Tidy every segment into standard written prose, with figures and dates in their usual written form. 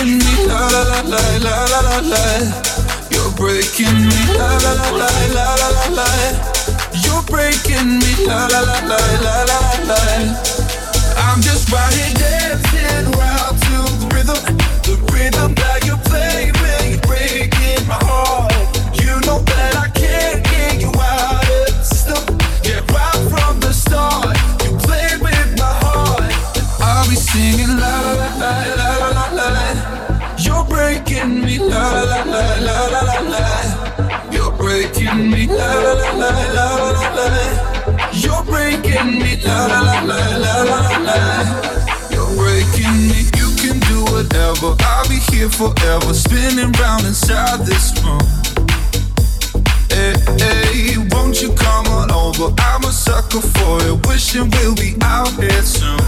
breaking me, la la la la la la la la. You're breaking me, la la la la la la la la. You're breaking me, la la la la la la la. I'm just right here dancing around to the rhythm that you play when you're breaking my heart. You know that I can't get you out of the system. Yeah, right from the start, you played with my heart. I'll be singing la la la la la la la la. You're breaking me, la la la la la la la. You're breaking me, la la la la la la la. You're breaking me, la la la la la la la. You're breaking me. You can do whatever. I'll be here forever, spinning round inside this room. Hey, hey, won't you come on over? I'm a sucker for it, wishing we'll be out here soon.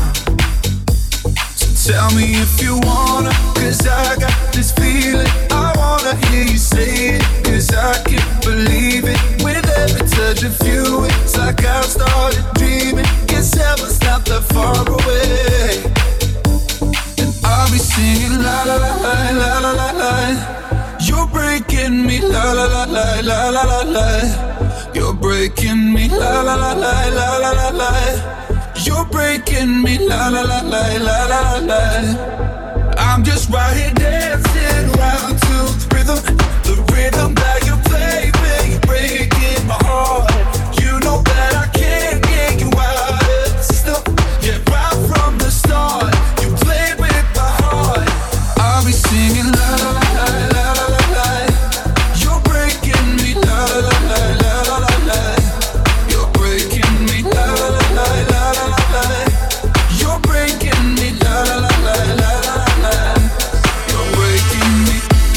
So tell me if you wanna, 'cause I got this feeling. I wanna hear you say it, 'cause I can't believe it. With every touch of you, it's like I've started dreaming. Guess heaven's not that far away. And I'll be singing la la la la la la la la. You're breaking me, la la la la la la la la. You're breaking me, la la la la la la la la. You're breaking me, la la la la la la la. I'm just right here dancing around to the rhythm that you play when you're breaking my heart. You know that I can't get you out of the system. Yeah, right from the start, you played with my heart. I'll be singing la la la la la la la. You're breaking me, la la la la la la la la. You're breaking me, la la la la la la la la. You're breaking me, la la la la la la la. You're breaking me.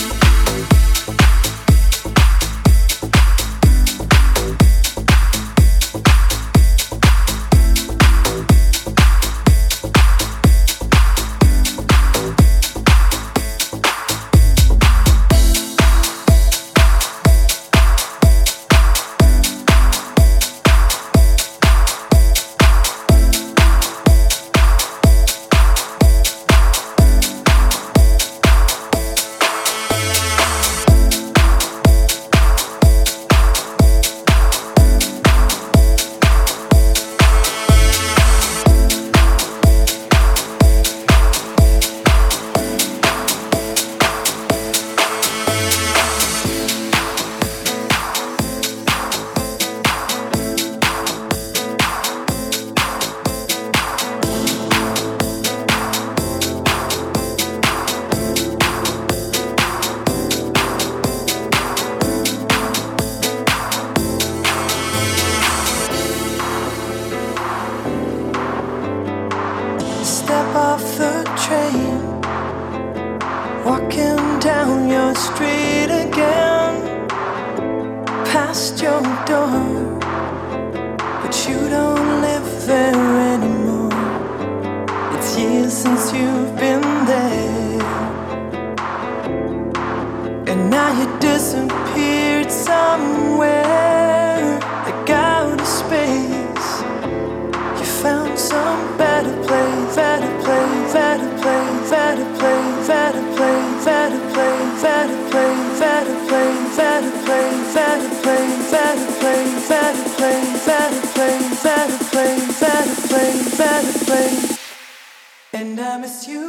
And I miss you.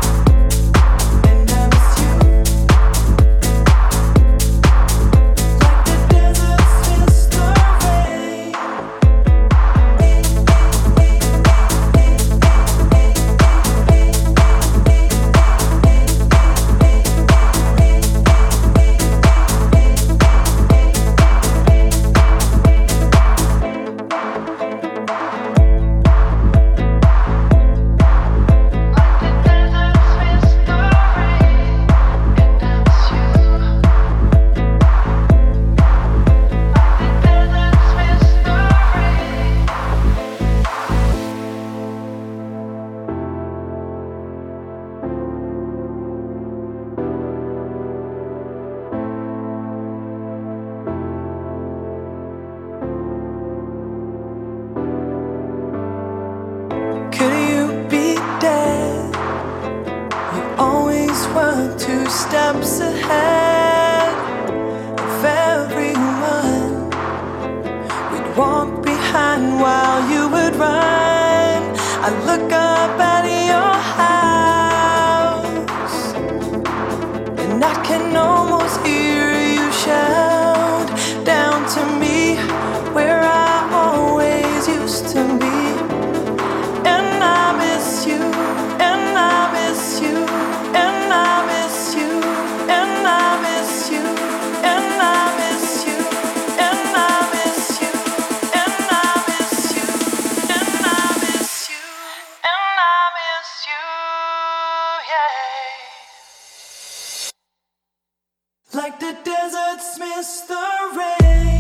Like were two steps ahead of everyone. We'd walk behind while you would run. I look up at your house, and I can almost hear you shout down to me where I always used to be. And I miss you, and I miss you, and I miss you, and I miss you, and I miss you, and I miss you, and I miss you, and I miss you, and I miss you, yeah. Like the deserts miss the rain.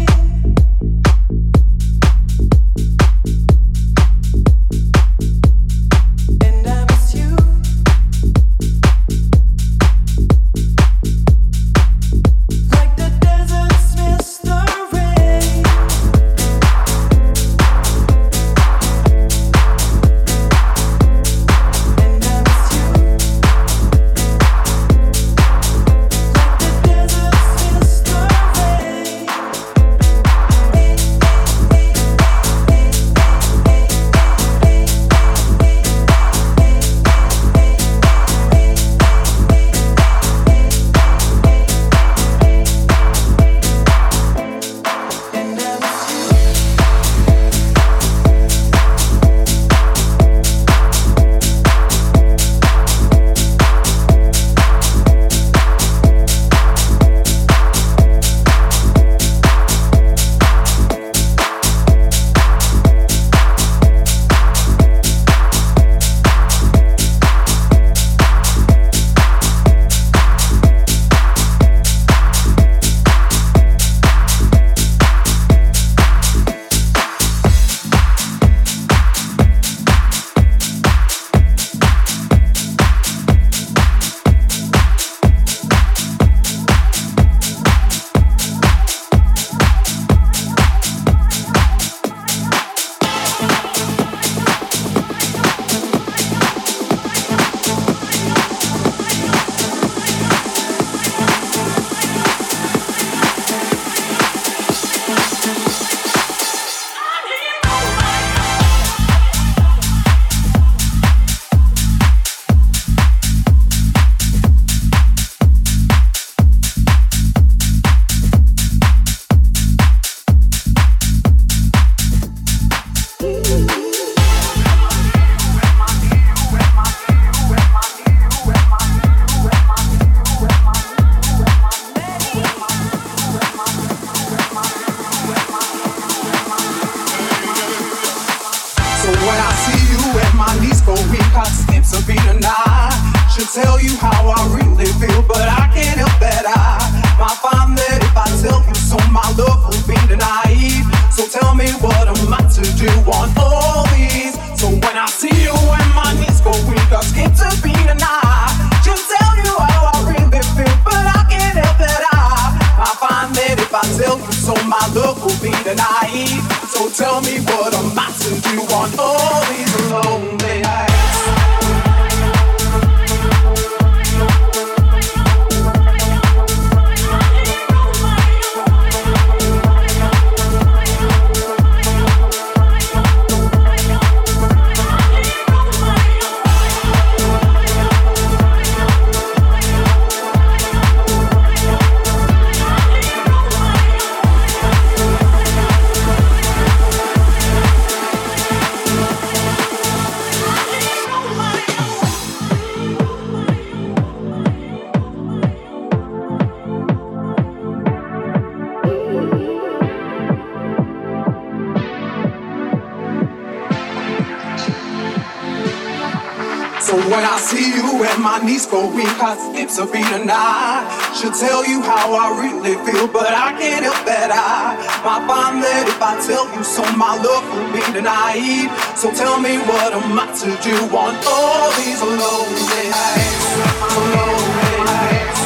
Go weak, heart skips a beat, and I should tell you how I really feel, but I can't help that I might find that if I tell you so, my love will be denied. So tell me what am I to do on all these lonely nights? Lonely nights,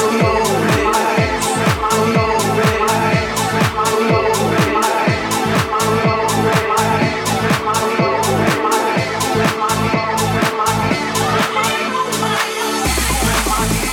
lonely nights, lonely nights, lonely nights, lonely nights, lonely nights.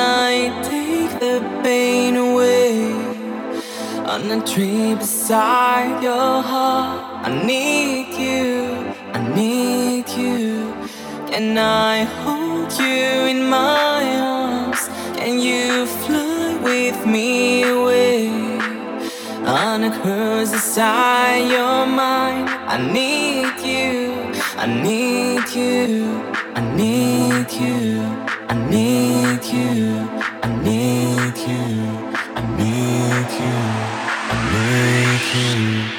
I take the pain away on a tree beside your heart? I need you, I need you. Can I hold you in my arms? Can you fly with me away on a cruise beside your mind? I need you, I need you, I need you, I need you, I need you, I need you, I need you.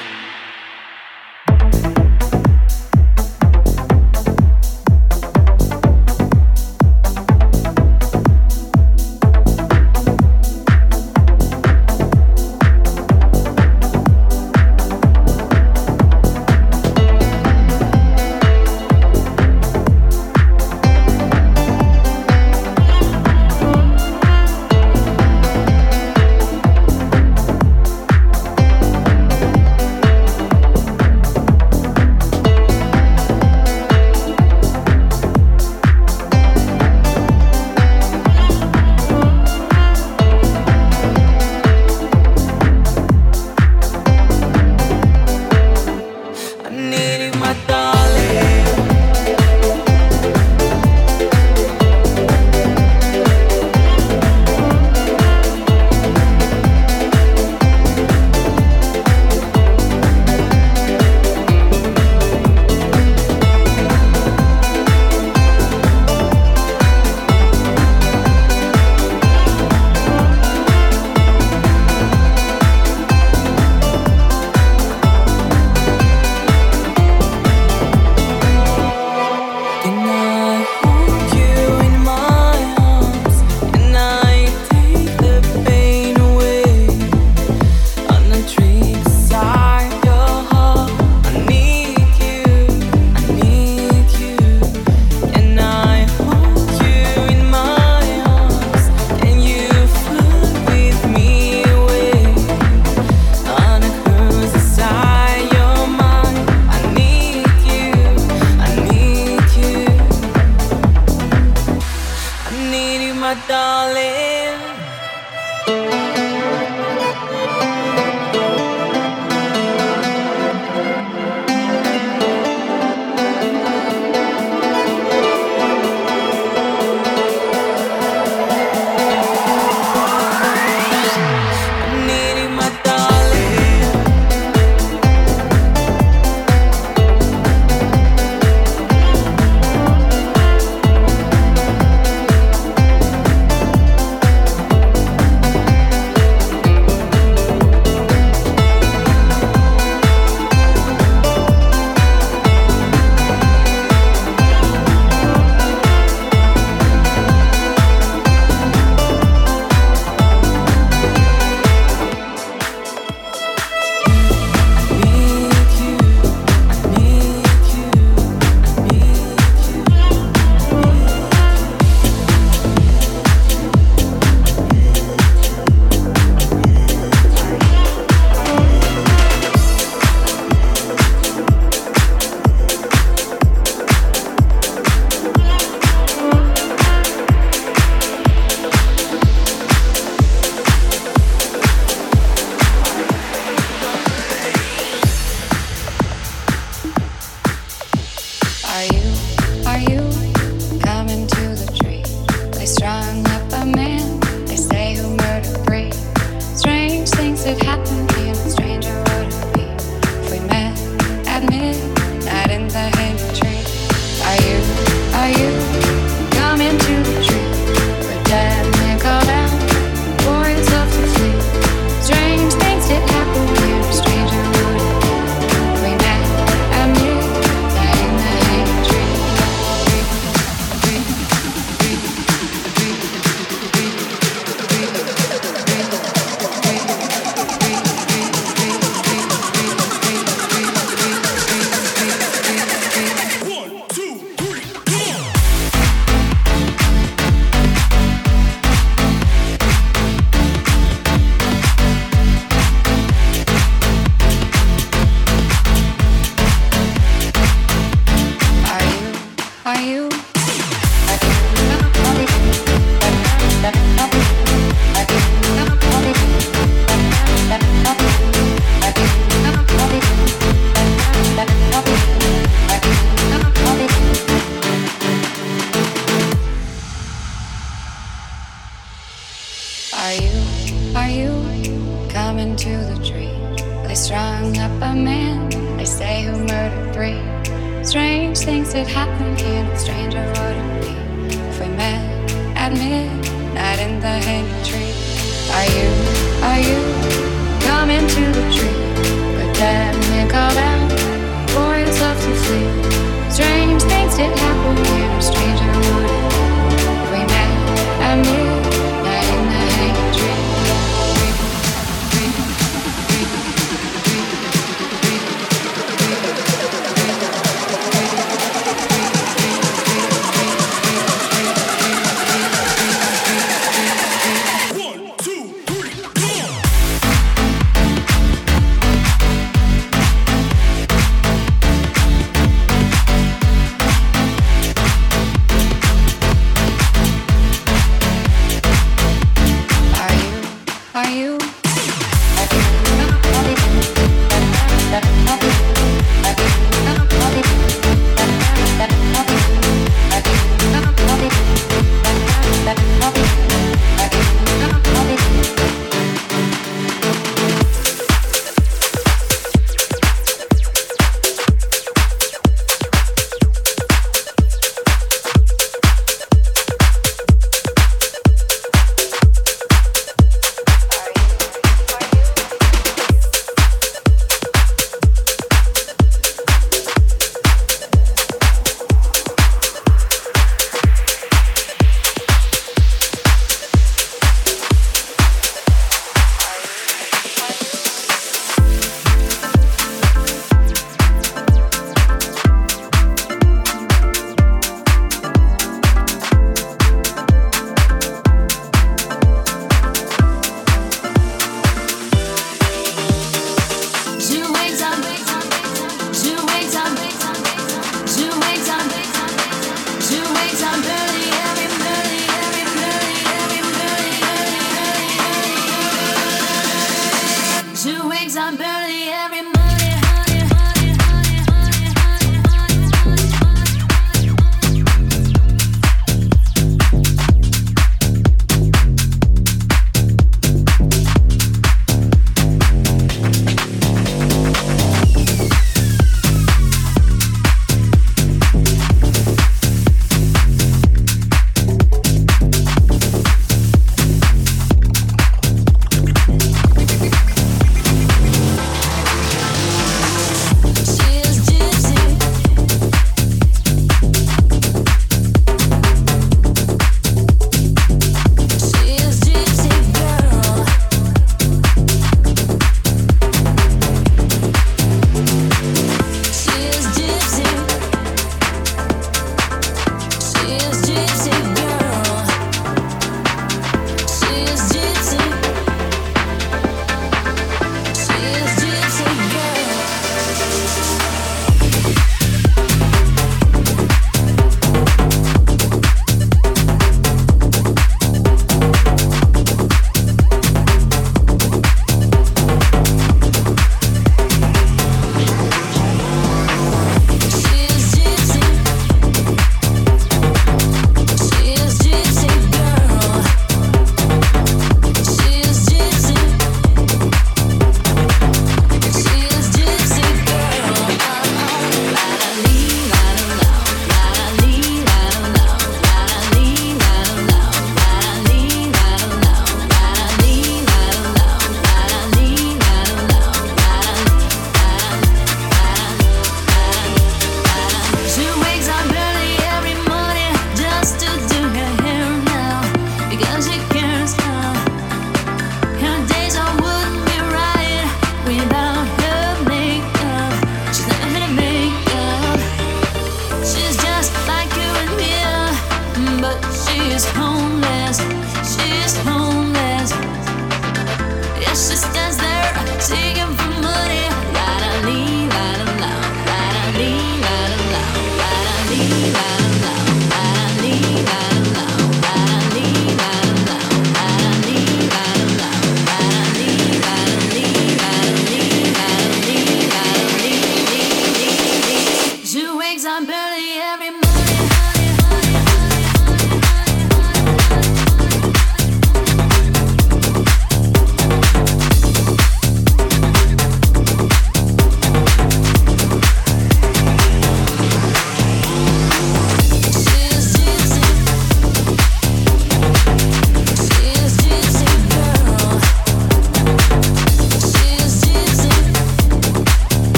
Are you coming to the tree? They strung up a man, they say, who murdered 3. Strange things that happen here, no stranger would it be if we met at midnight in the hanging tree? Are you coming to the tree? But then you called out for yourself to flee. Strange things did happen here, no stranger would it be if we met at midnight in the hanging tree.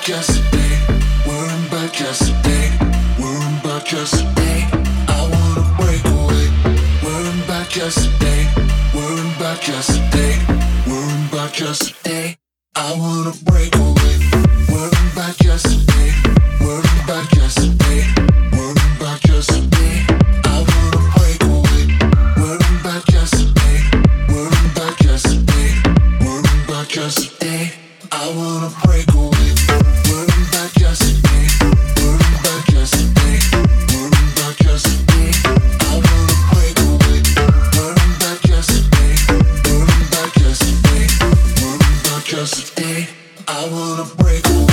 back yesterday, worrying about yesterday, worrying about yesterday. I wanna break away, worrying about yesterday, worrying about yesterday, worrying about yesterday. I wanna break away, worrying about yesterday, worrying about yesterday, worrying about yesterday. I wanna break away, worrying about yesterday, worrying about yesterday, worrying about yesterday. I wanna break away, worrying about yesterday, worrying about yesterday, worrying about yesterday. I wanna break away, worrying about yesterday, worrying about yesterday, worrying about yesterday. I wanna break away.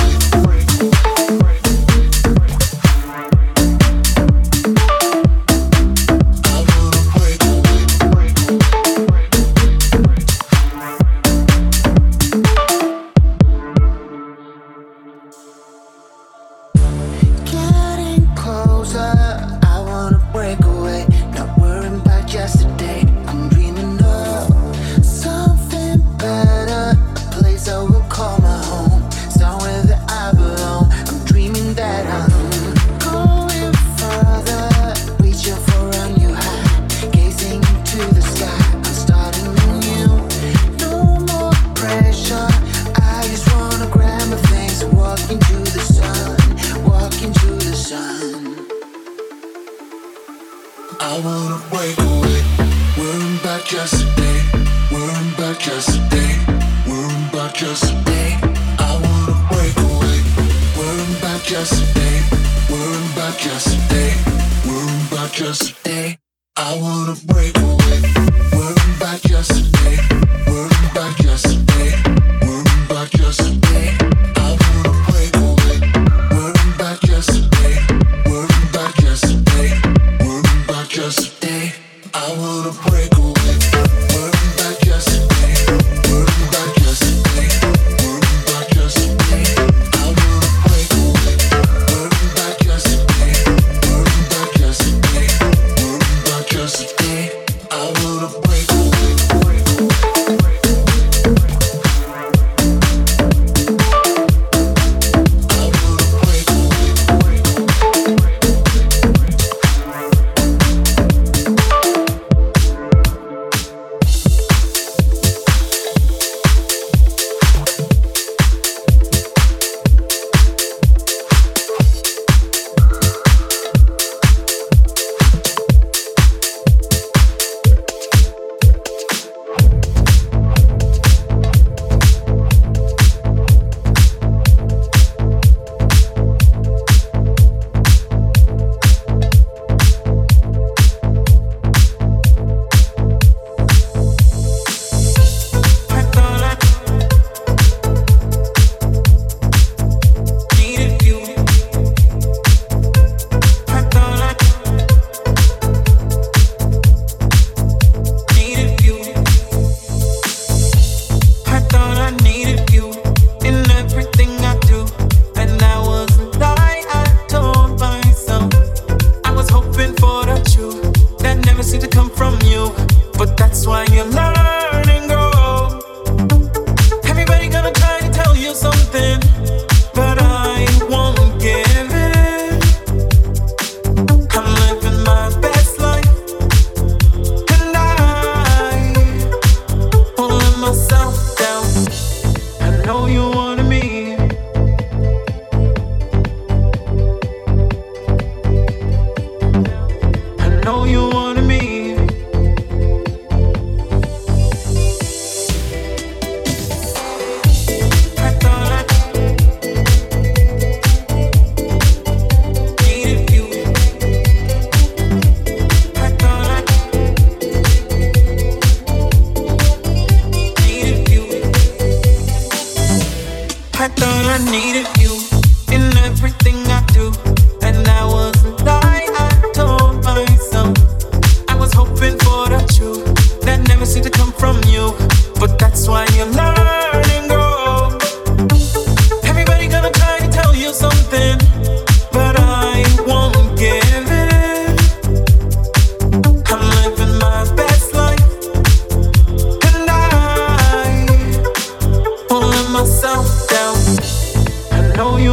myself down. I know you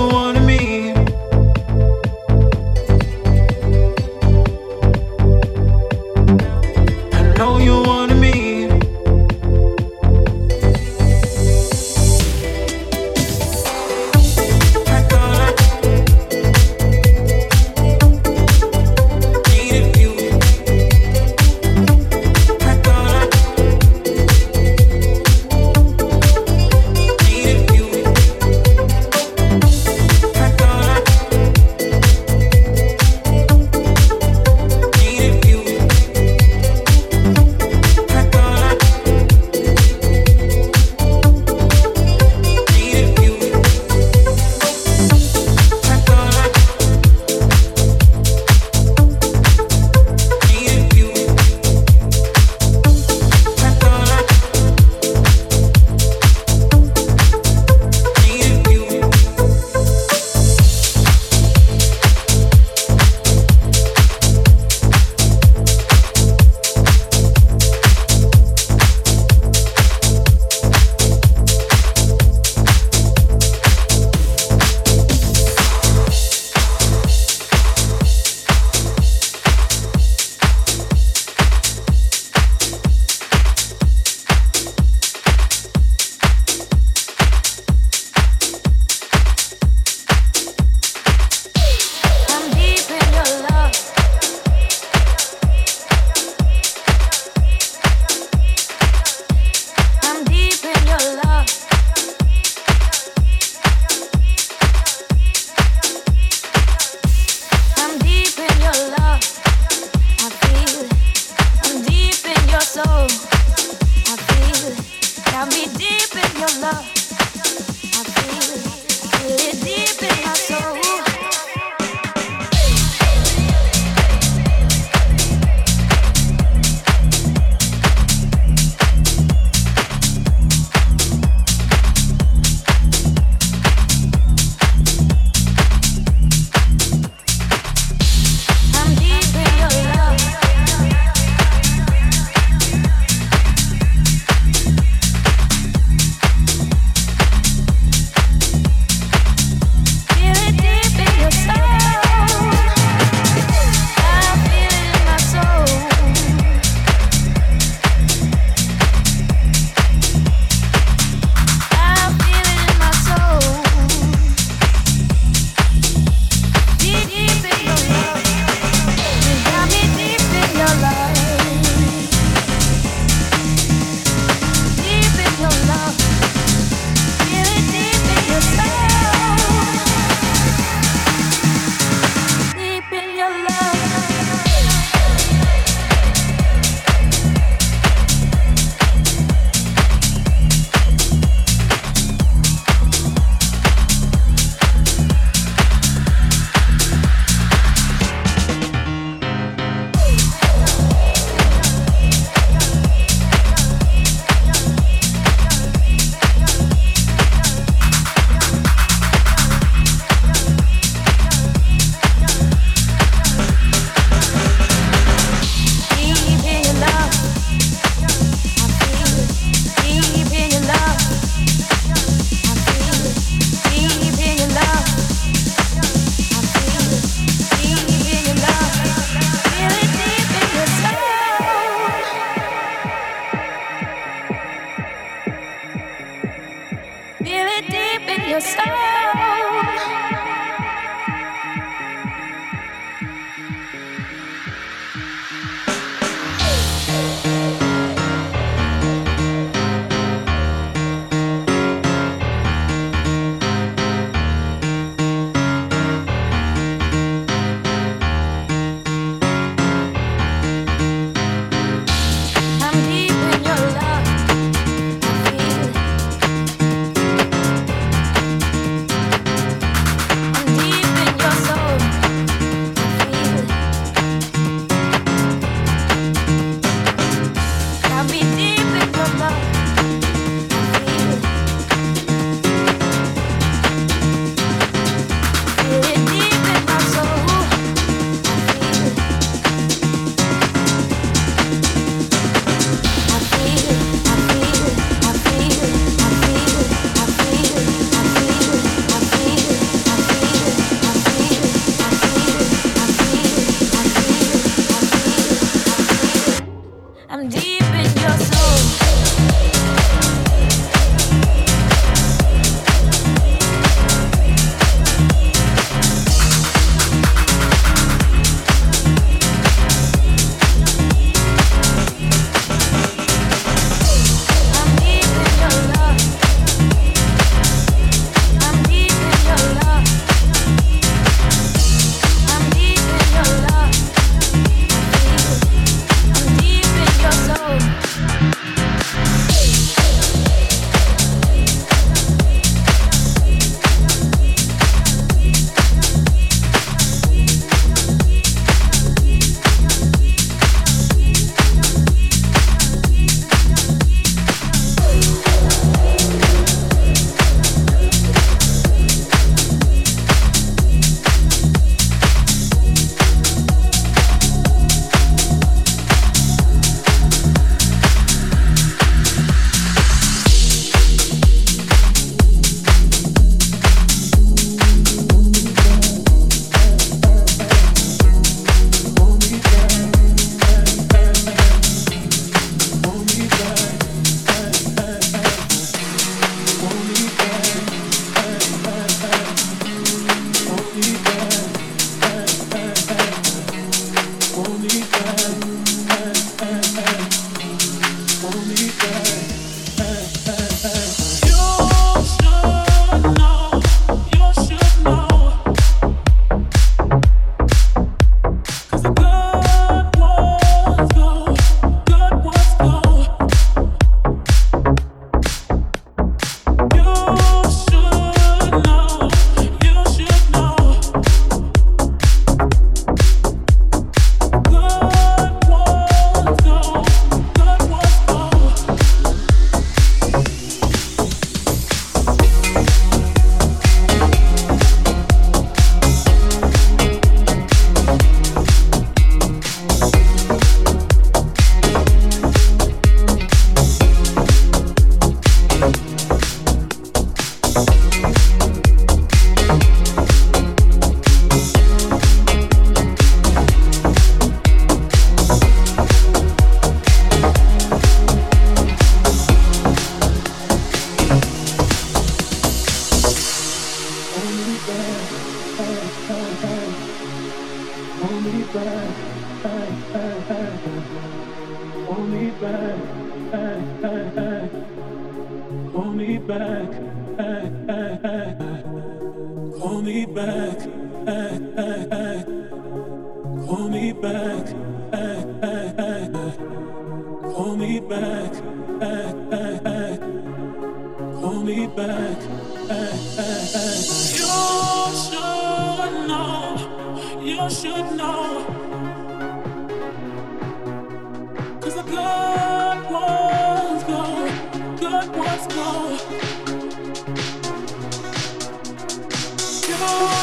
Come on.